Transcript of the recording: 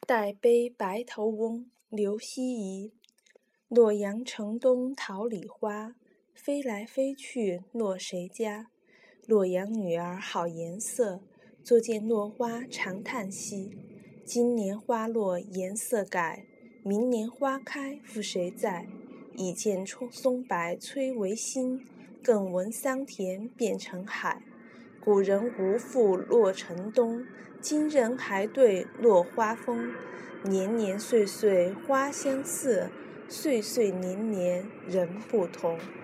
代悲白头翁刘希夷。洛阳城东桃李花，飞来飞去落谁家？洛阳女儿好颜色，坐见落花长叹息。今年花落颜色改，明年花开复谁在？已见松柏摧为新，更闻桑田变成海。古人无复洛城东，今人还对落花风。年年岁岁花相似，岁岁年年人不同。